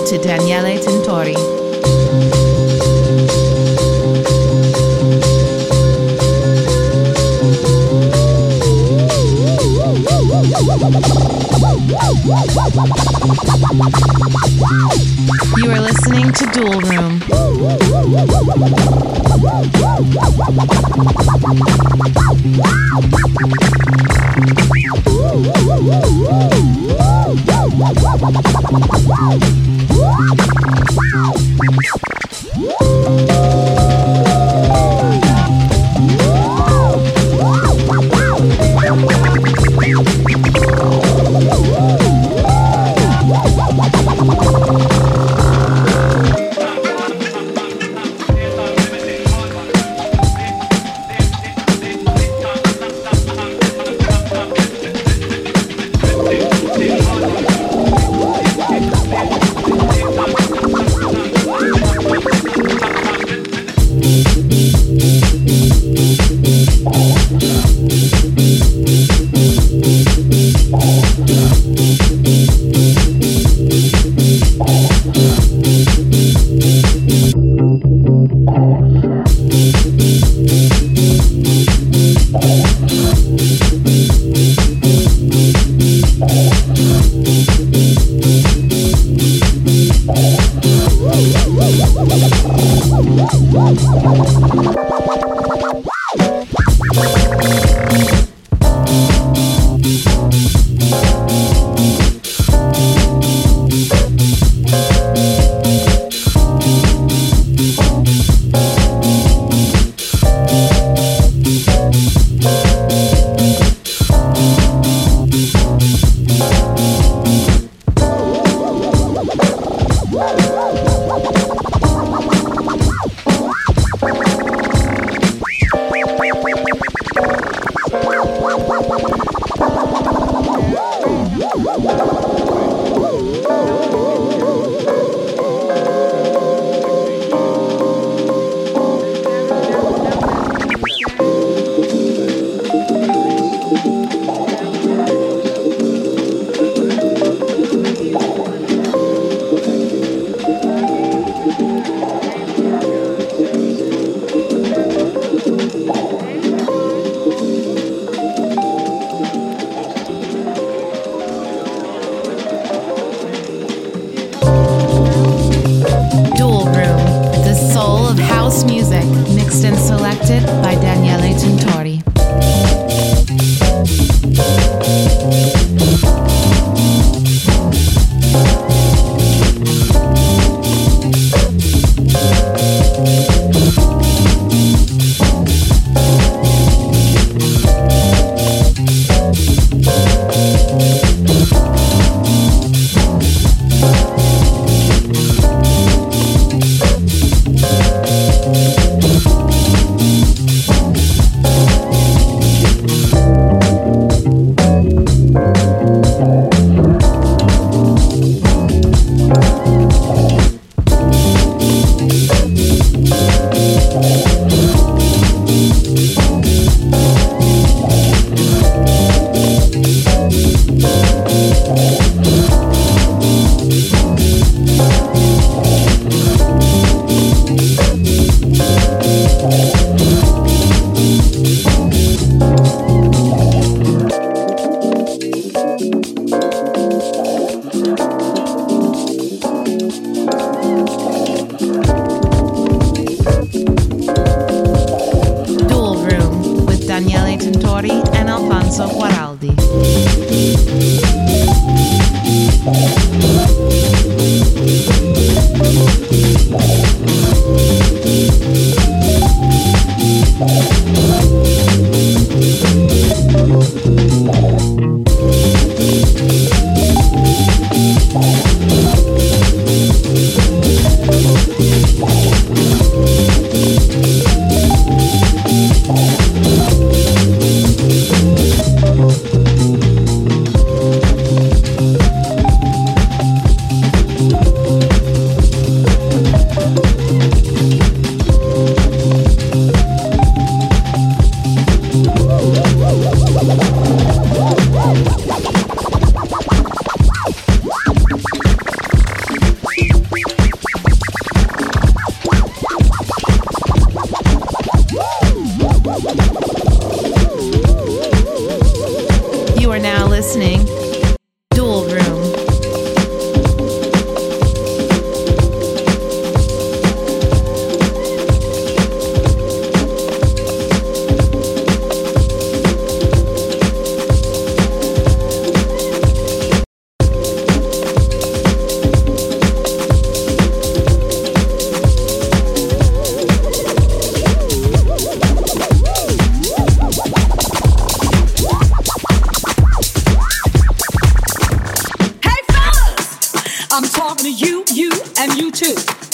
to Daniele Tintori. You are listening to Dual Room.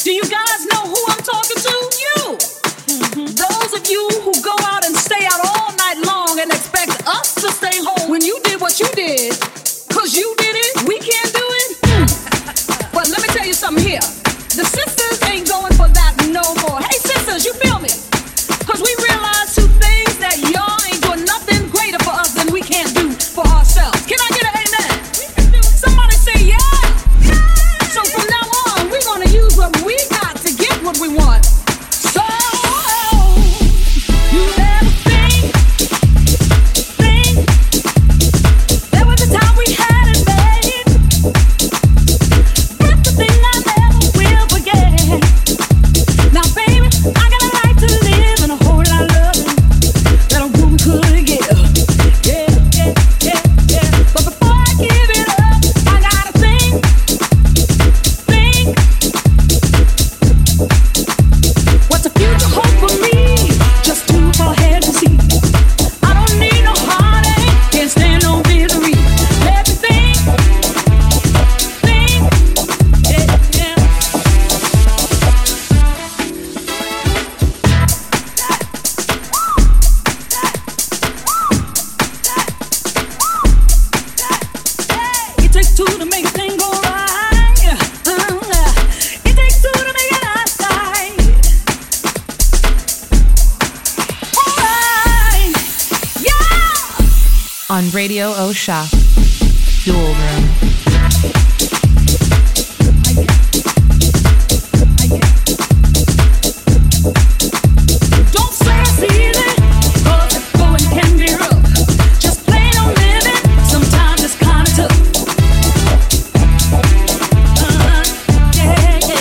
Do you guys know who I'm talking to? You! Those of you who go out and stay out all night long and expect us to stay home when you did what you did, cause you did it, we can't do it? But let me tell you something here. The sisters ain't going for that no more. Hey sisters, you feel me? Cause we realize two things, that y'all ain't doing nothing greater for us than we can't do for ourselves. Can I get an amen? Somebody say yeah. So from now on, we're gonna use what we got to get what we want. So you ever think there was a time we had it made? That's the thing I never will forget. Now baby, I got a right to live and a whole lot of loving that a woman could give. Yeah. But before I give it up, I gotta think. What's the future hold for me? Just too far ahead to see. I don't need no heartache, can't stand no misery. Let me think. Yeah. It takes two to make a thing go right. It takes two to make it outside. Alright, yeah. On Radio Osha, Dual Room. Don't say it's easy, 'cause it's going can be rough. Just plain old living, sometimes it's kinda tough. Yeah.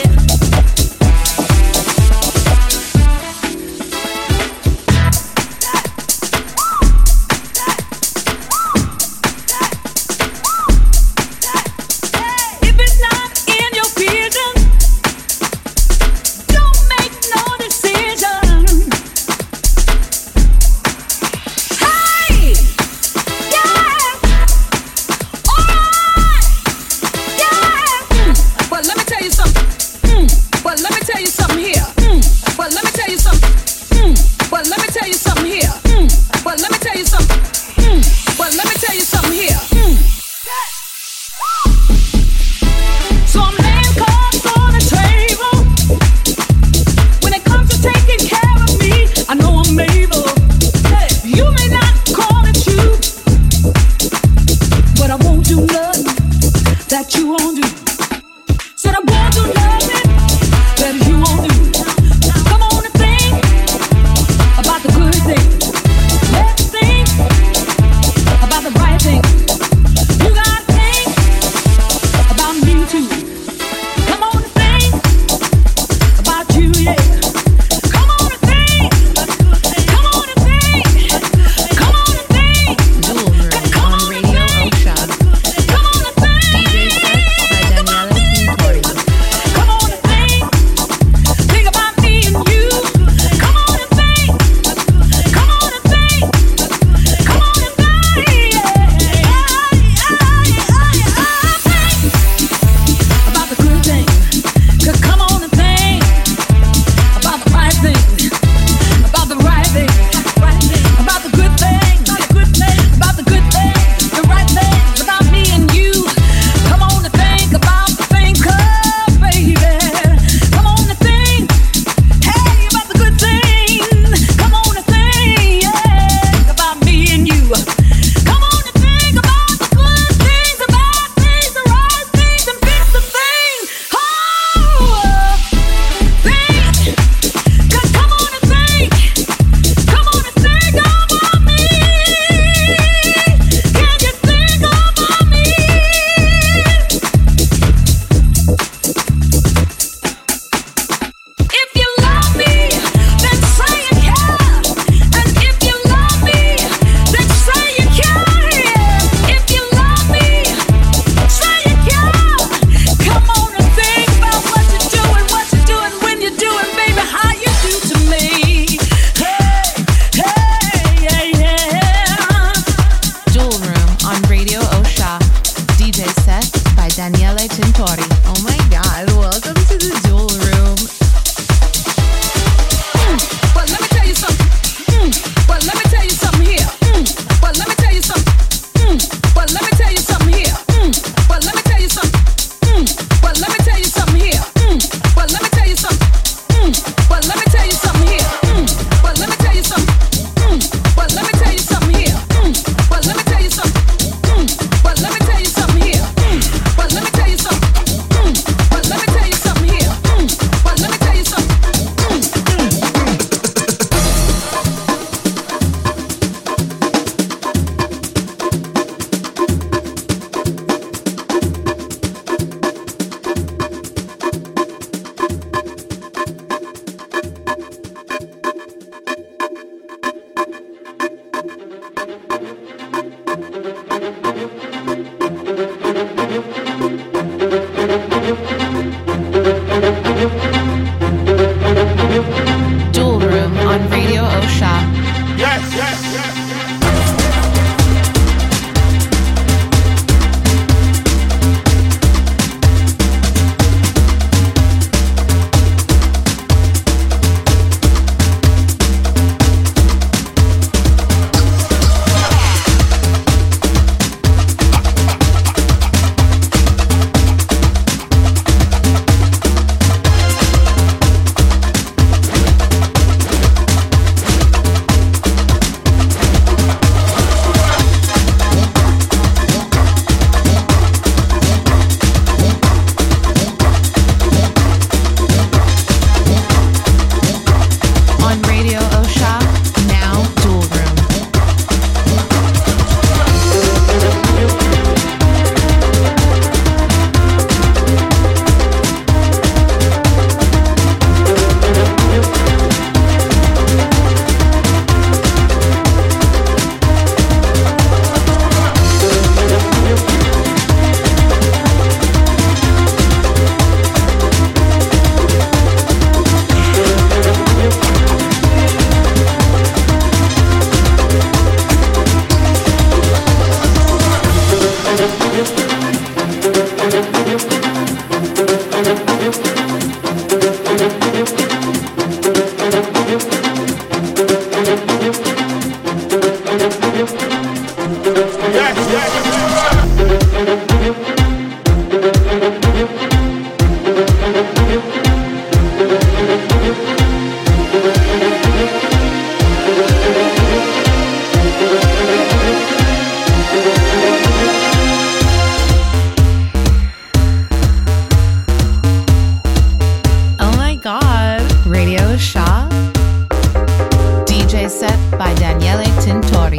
If it's not in your vision, don't make no decision. Hey, yeah, alright, yeah. But let me tell you something. But let me tell you something here. But let me tell you something. But let me tell you something here. But let me tell you something. But let me tell you something here. So I'm laying cards on the table. When it comes to taking care of me, I know I'm able. You may not call it you, but I won't do nothing that you won't do. Said I won't do nothing that you won't Osha. DJ set by Daniele Tintori.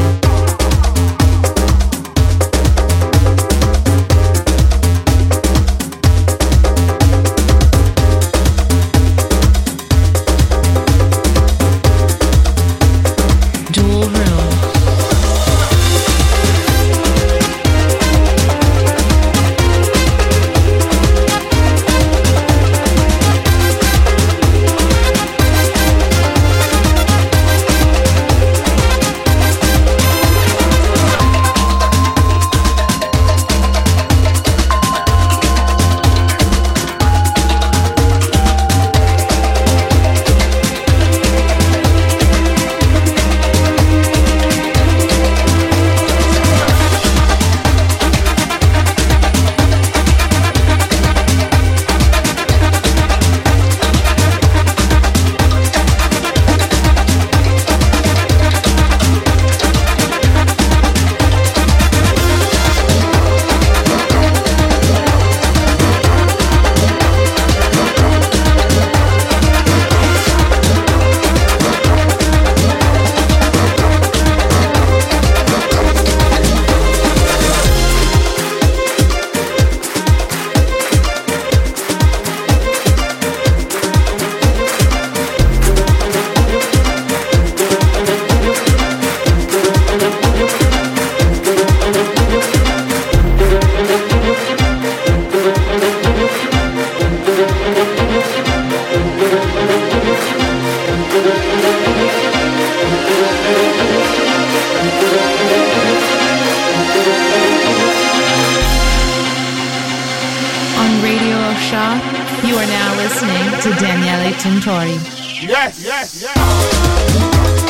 You are now listening to Daniele Tintori. Yes, yes, yes.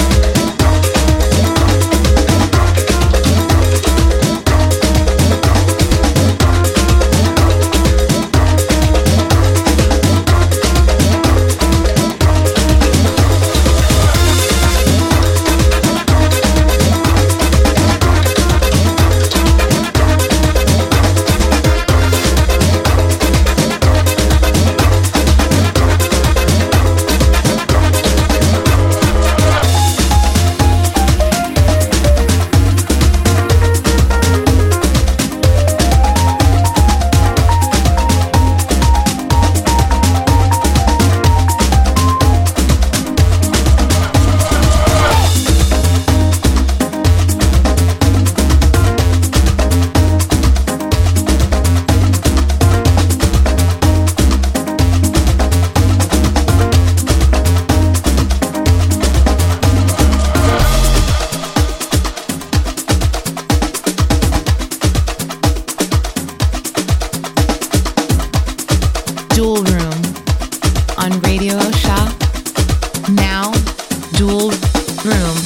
Dual Room on Radio Osha. Now, Dual Room.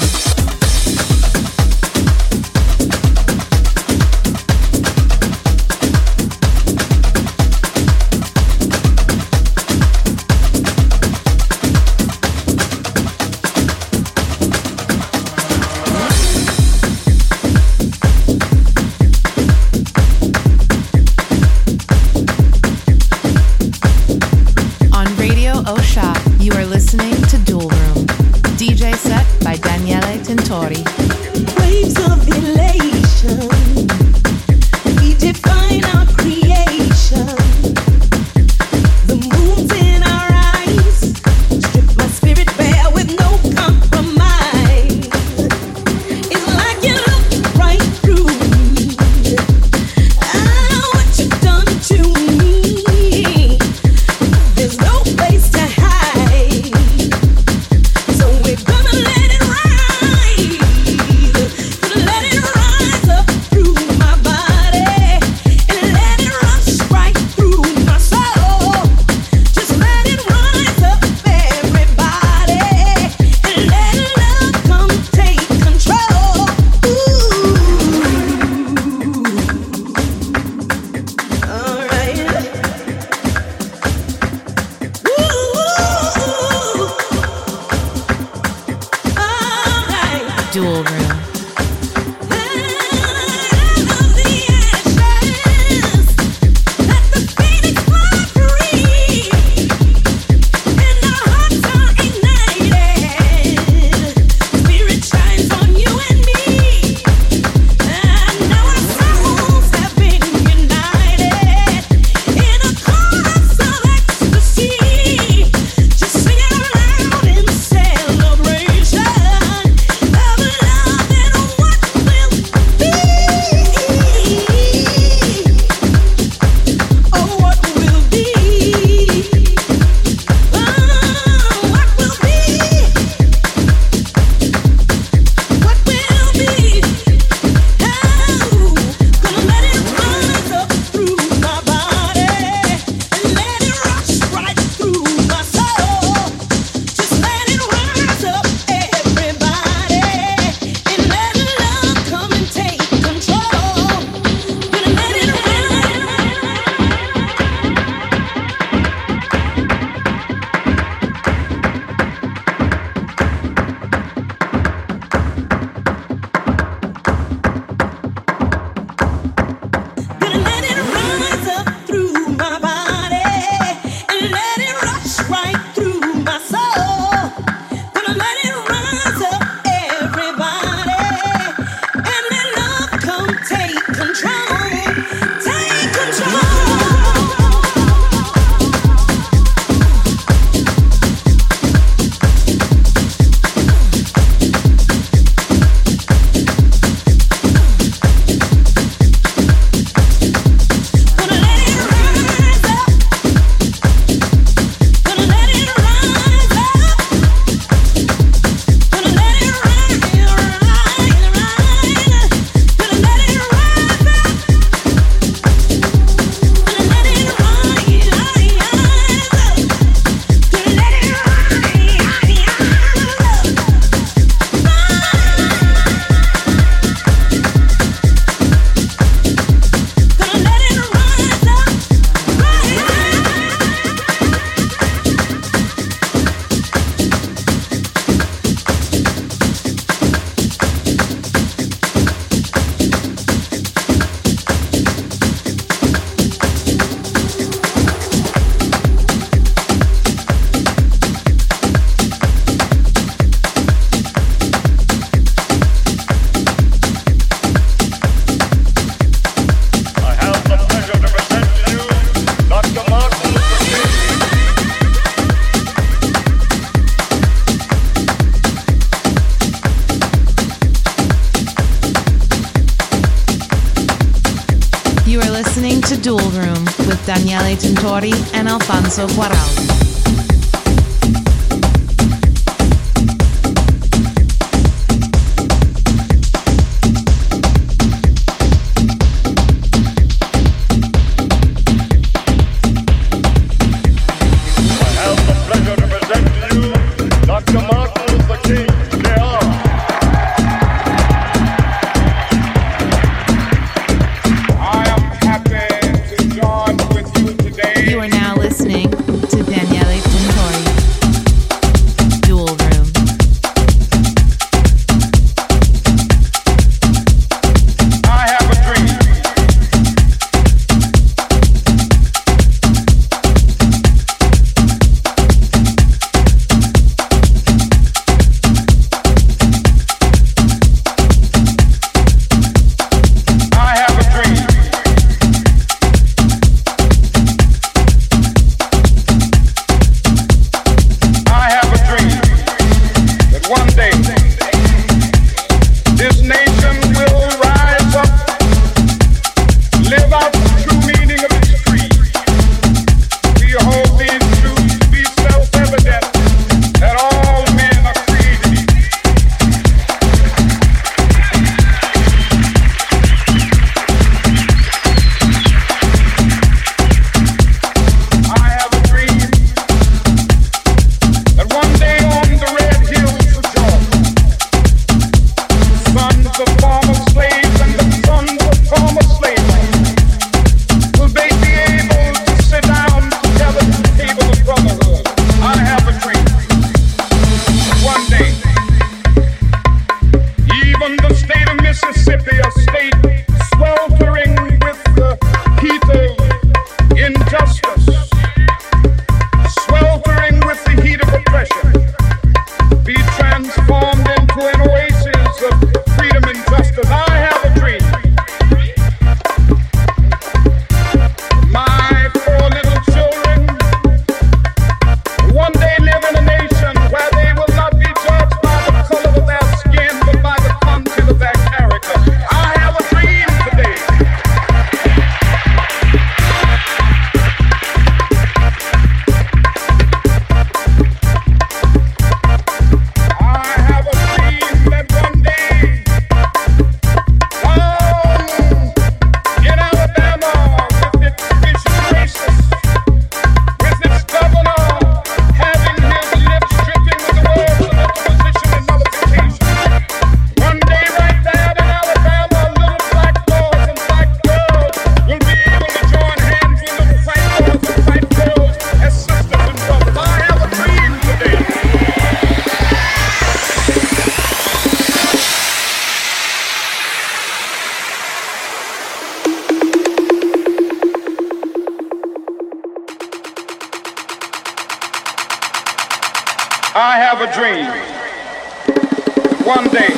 Osha, you are listening to Dual Room. DJ set by Daniele Tintori. Waves of elation, we define our creation. The moon's in our eyes, strip my spirit bare with no compromise. It's like you look right through me. I know what you've done to me. There's no place to hide, so we're gonna let it rise, gonna let it rise up through my body, and let it rush right through my soul. Just let it rise up, everybody, and let love come take control. All right. Dual Room. Let the phoenix fly free, and our hearts are ignited. Dual Room with Daniele Tintori and Alfonso Guaraldi. You are now listening to Daniele I have a dream. One day.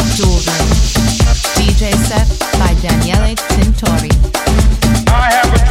Daniele Tintori. I have a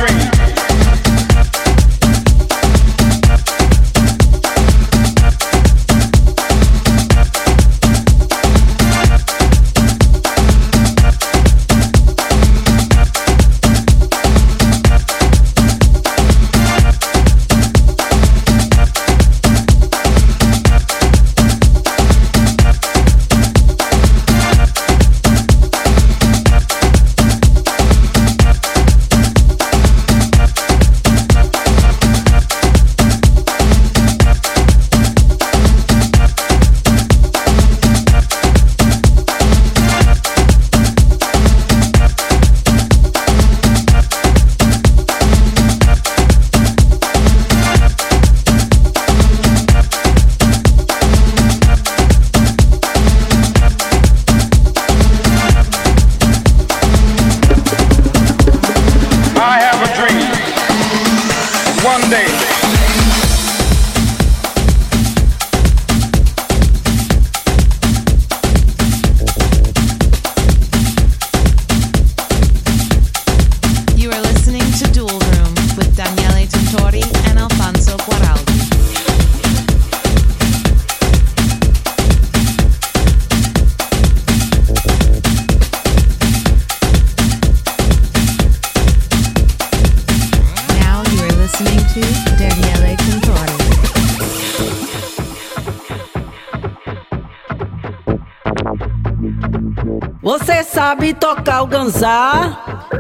Você sabe tocar o ganzá?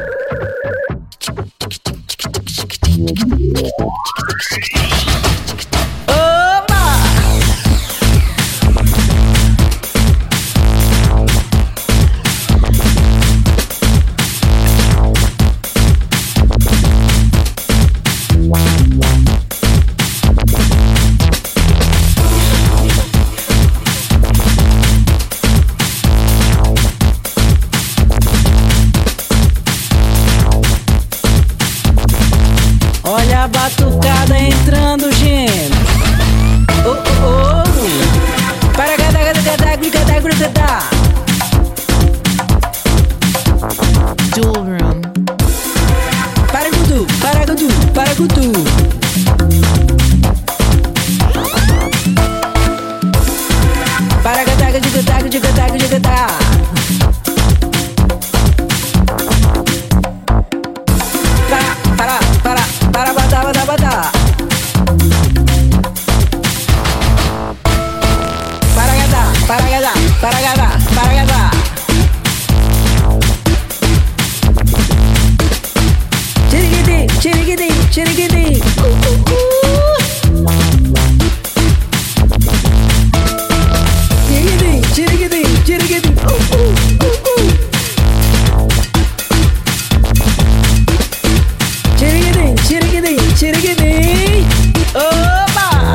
Olha a batucada entrando, gente. Oh, oh, oh. Para gadá, gadá, gadá, gadá. Dual Room. Para gudu, para gudu, para gudu. Para gadá, gadá, gadá, gadá, gadá. Para badá, badá, badá. Para gadá, para gadá, para gadá, para gadá. Chiriguidi, chiriguidi, chiriguidi. Chiriguidi, chiriguidi, chiriguidi. Chiriguidi, chiriguidi. Opa!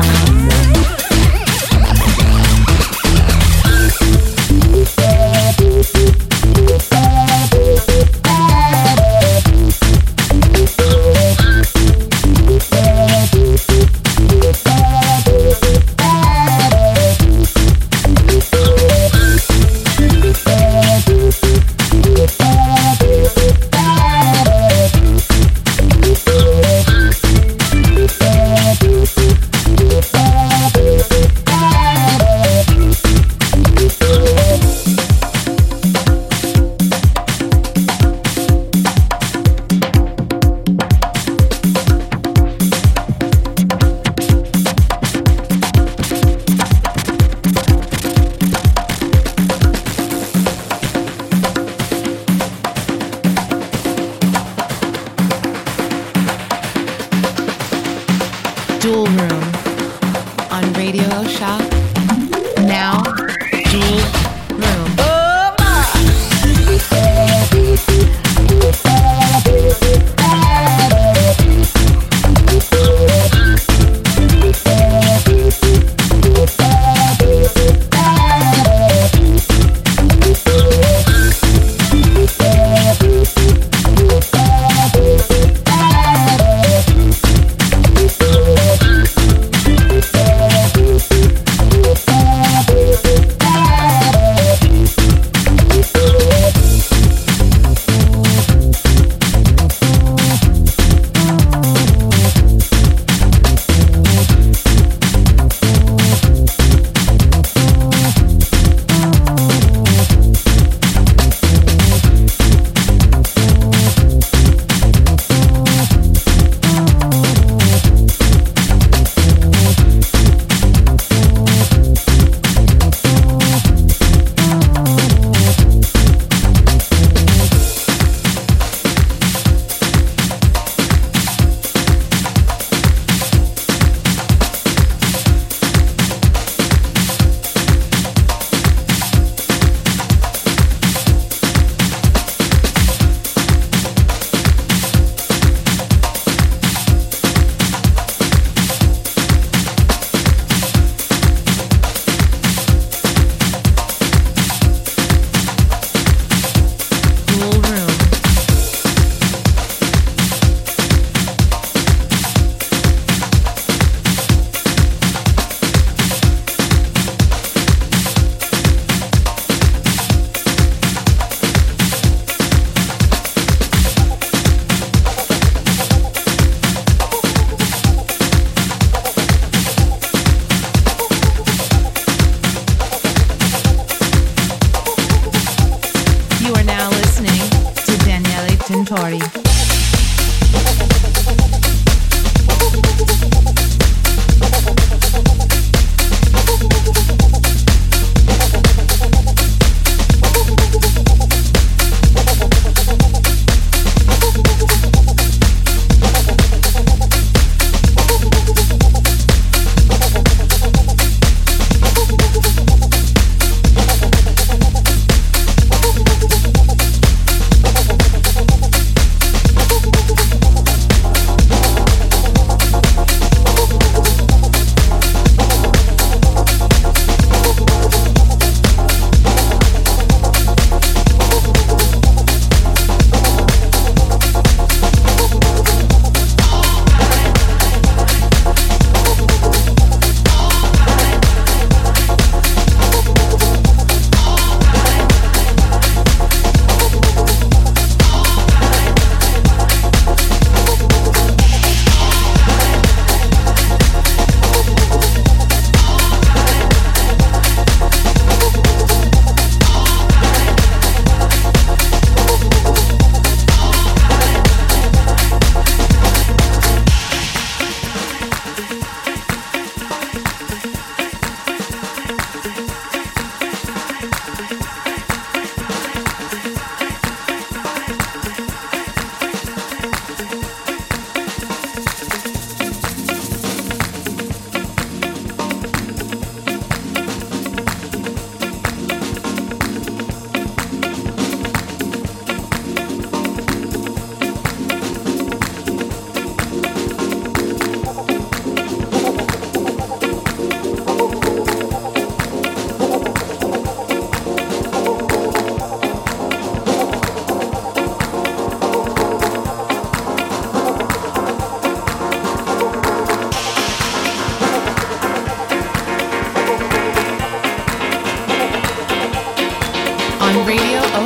Dual Room on Radio Shop. Now, Dual Room. Tintori.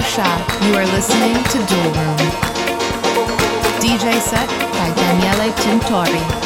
Shah. You are listening to Dual Room. DJ set by Daniele Tintori.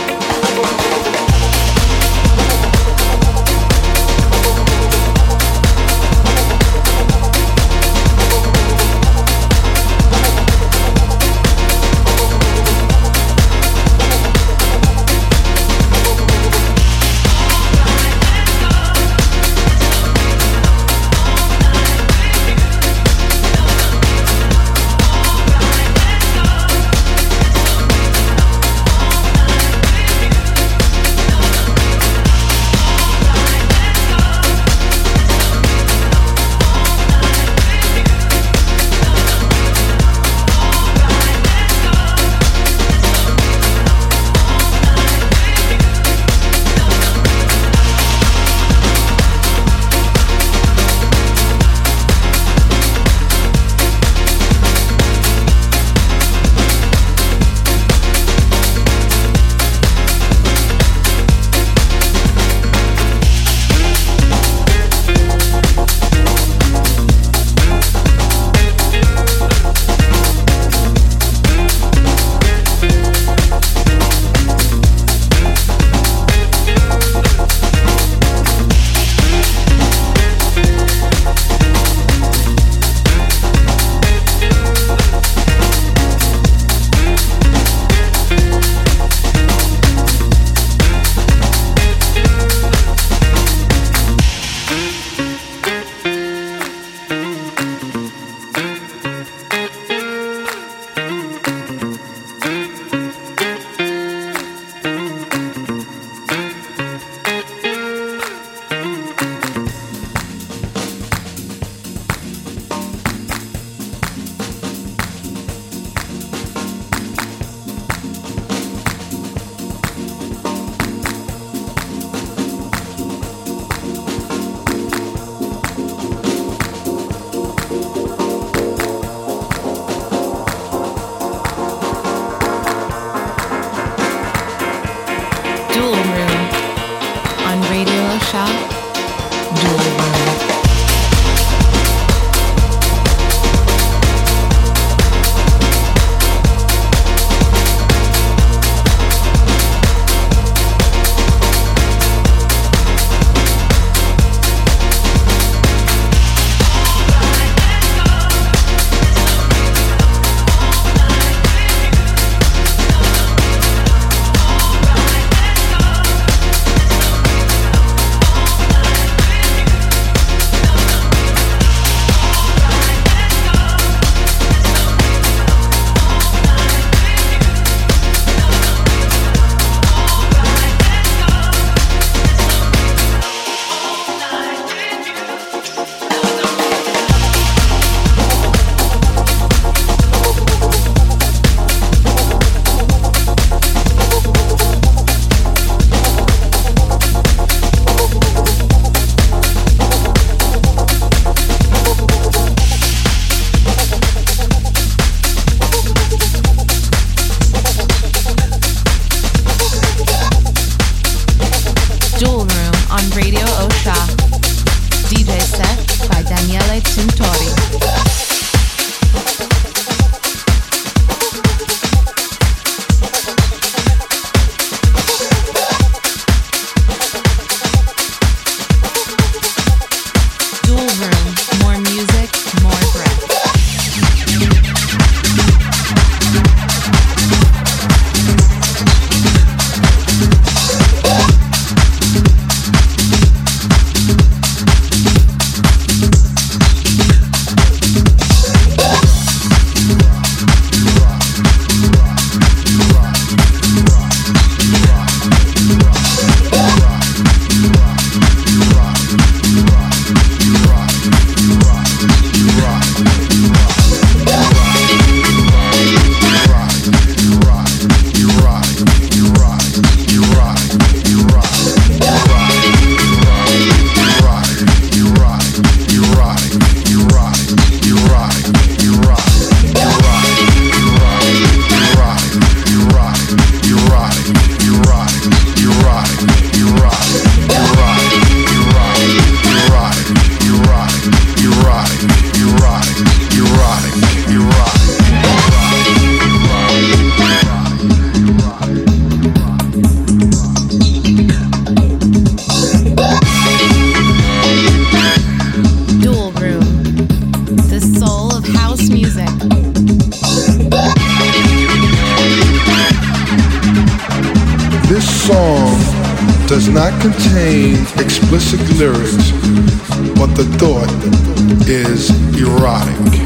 Does not contain explicit lyrics, but the thought is erotic.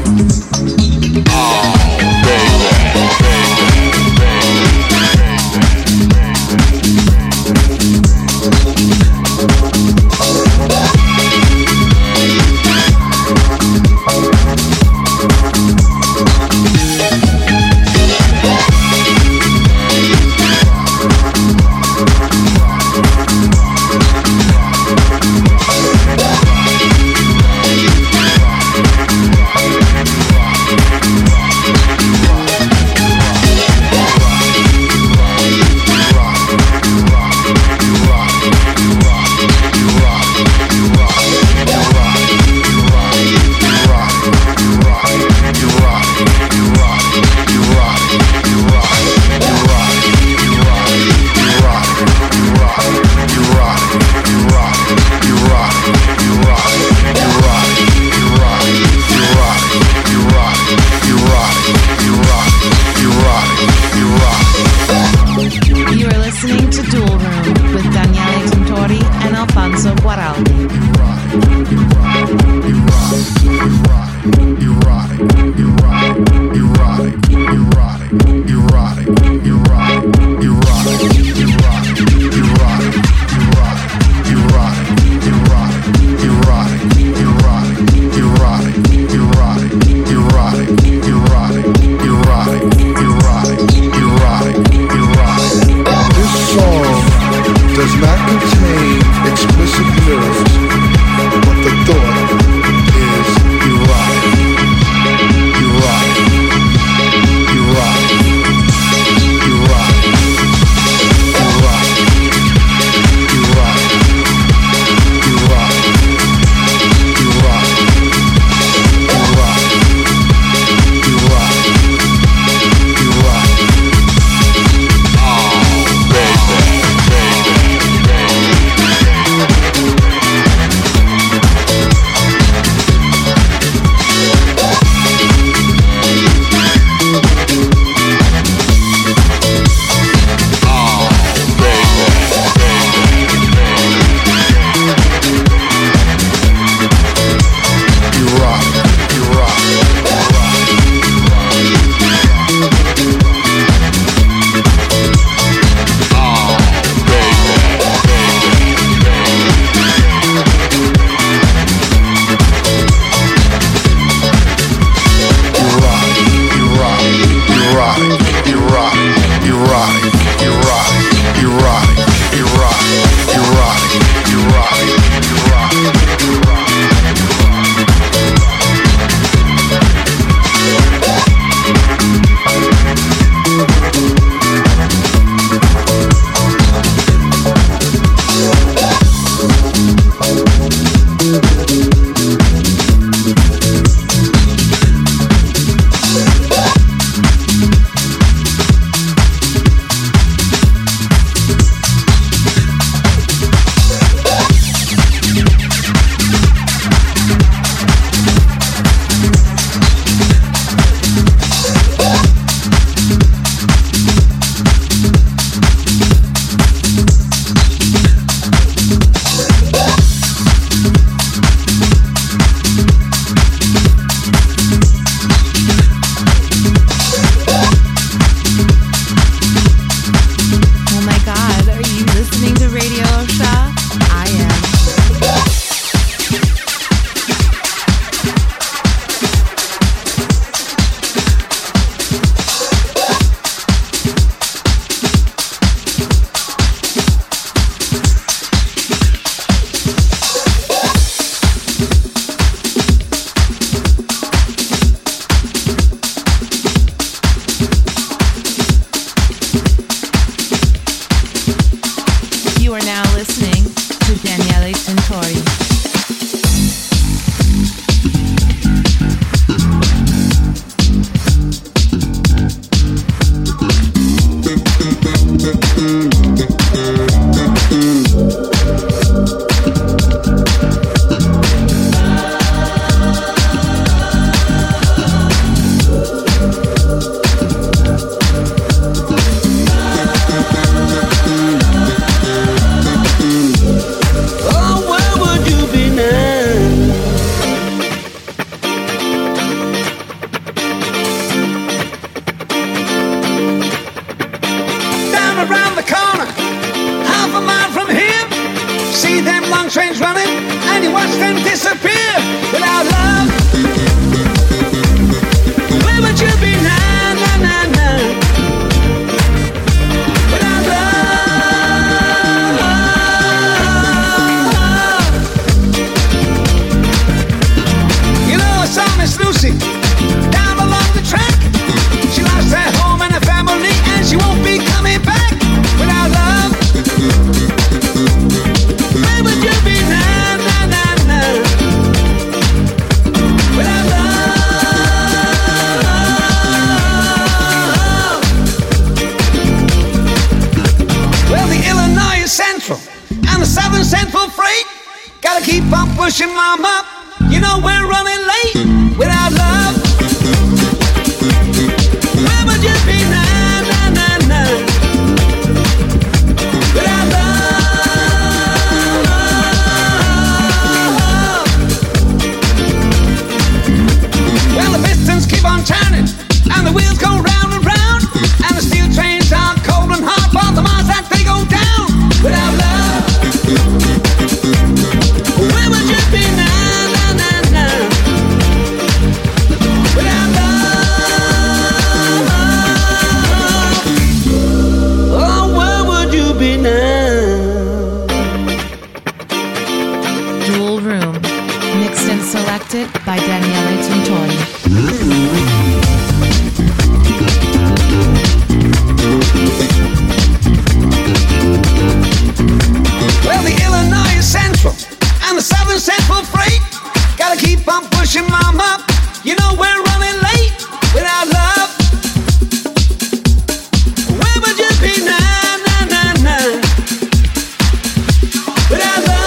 Oh, baby. keep on pushing, mama. You know we're running late without love. Where would you be now, now, now, now? Without love. Well, the pistons keep on turning, and the wheels go round and round, and the steel trains are cold and hard, but the miles that they go down. Without love, where would you be now? Without love, oh, where would you be now? Dual Room, mixed and selected by Daniele Tintori. Well, the Illinois Central and the Southern Central Freight gotta keep on pushing, mama. You know we're running late without love. Where would you be now, now, now, now? Without love.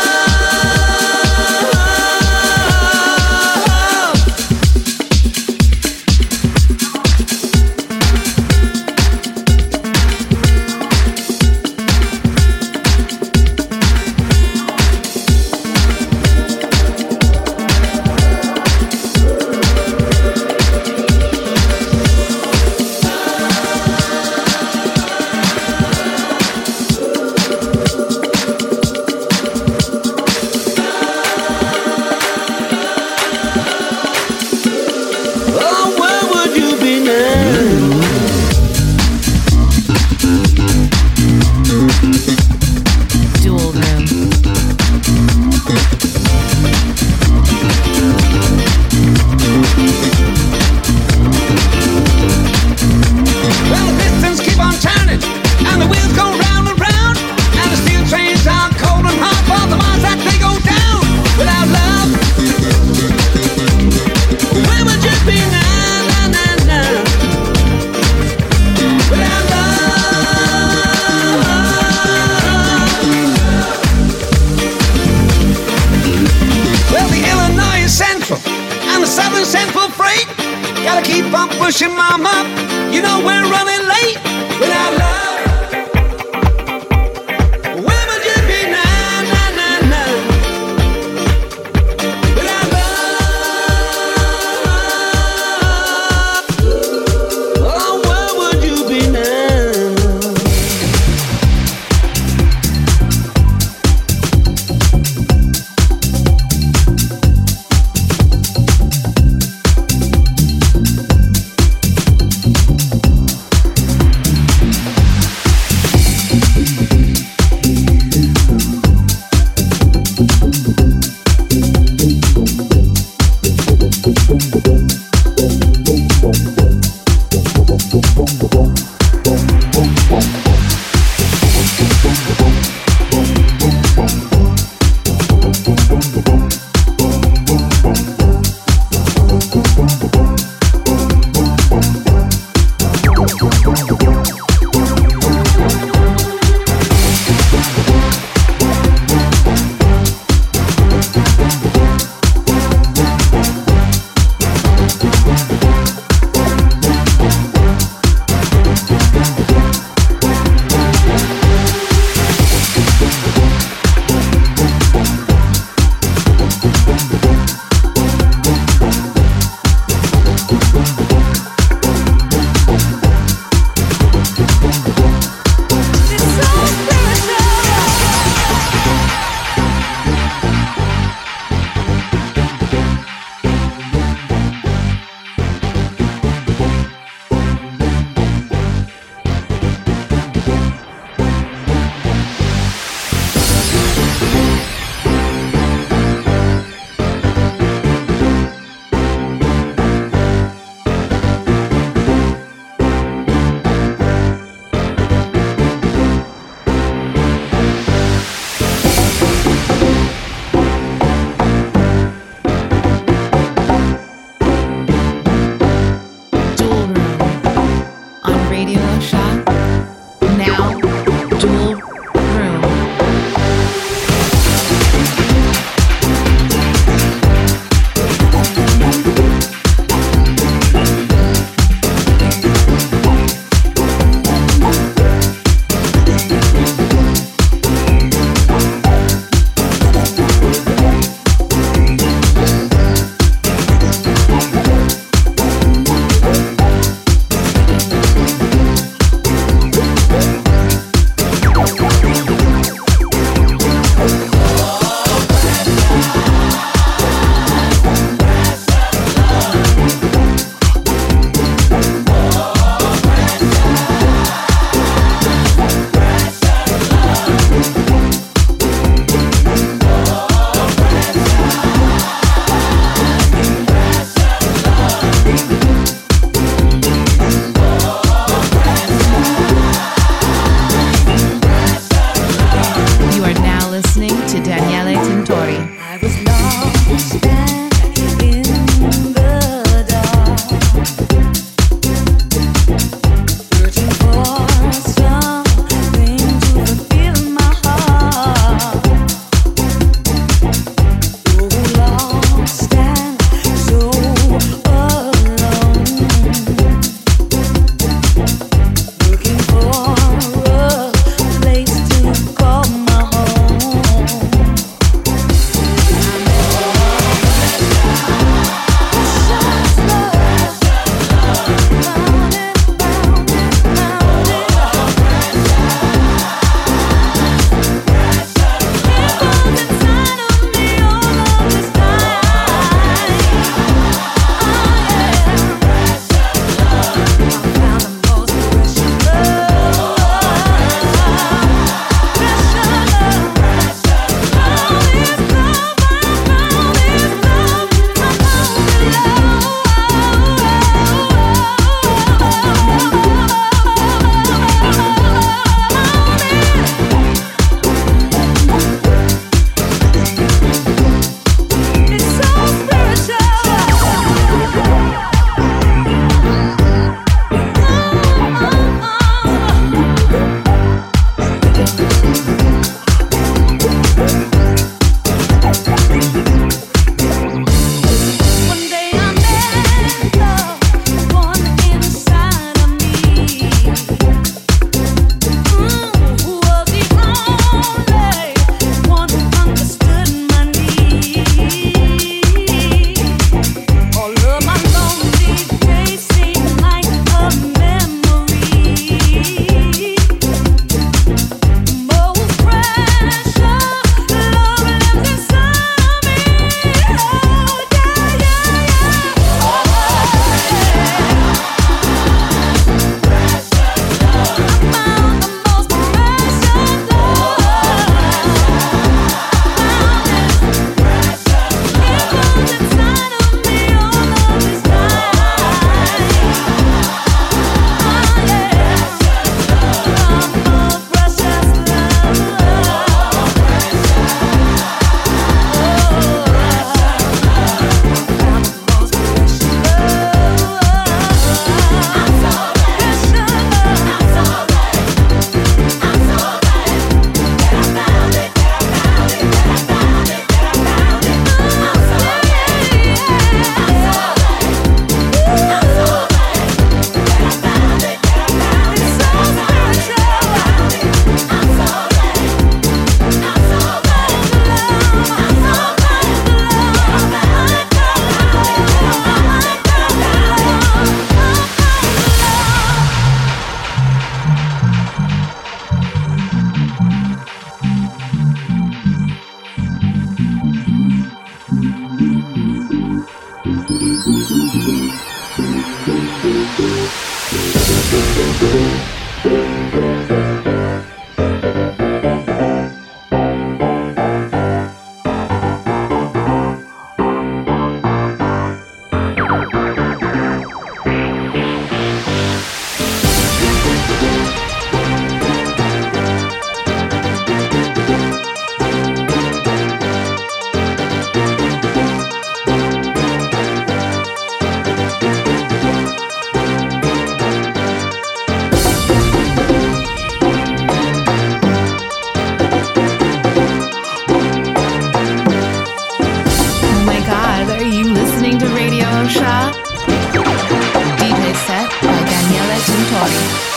DJ set by Daniele Tintori.